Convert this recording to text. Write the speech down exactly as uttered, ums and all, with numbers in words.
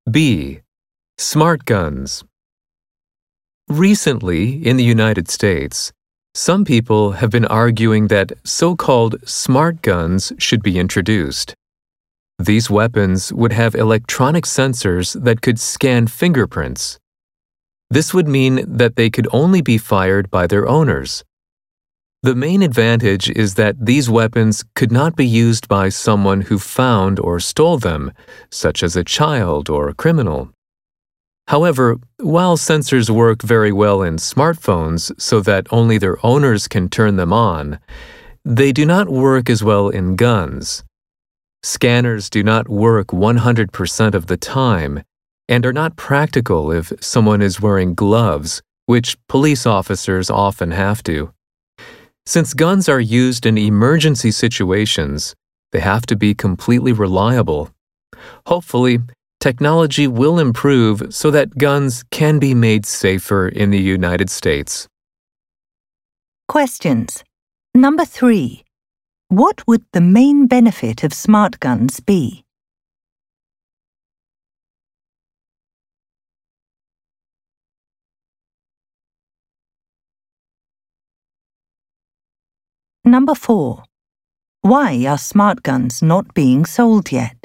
B. Smart guns. Recently, in the United States, some people have been arguing that so-called smart guns should be introduced. These weapons would have electronic sensors that could scan fingerprints. This would mean that they could only be fired by their owners. The main advantage is that these weapons could not be used by someone who found or stole them, such as a child or a criminal. However, while sensors work very well in smartphones so that only their owners can turn them on, they do not work as well in guns. Scanners do not work one hundred percent of the time and are not practical if someone is wearing gloves, which police officers often have to. Since guns are used in emergency situations, they have to be completely reliable. Hopefully, technology will improve so that guns can be made safer in the United States. Questions. Number three. What would the main benefit of smart guns be? Number four. Why are smart guns not being sold yet?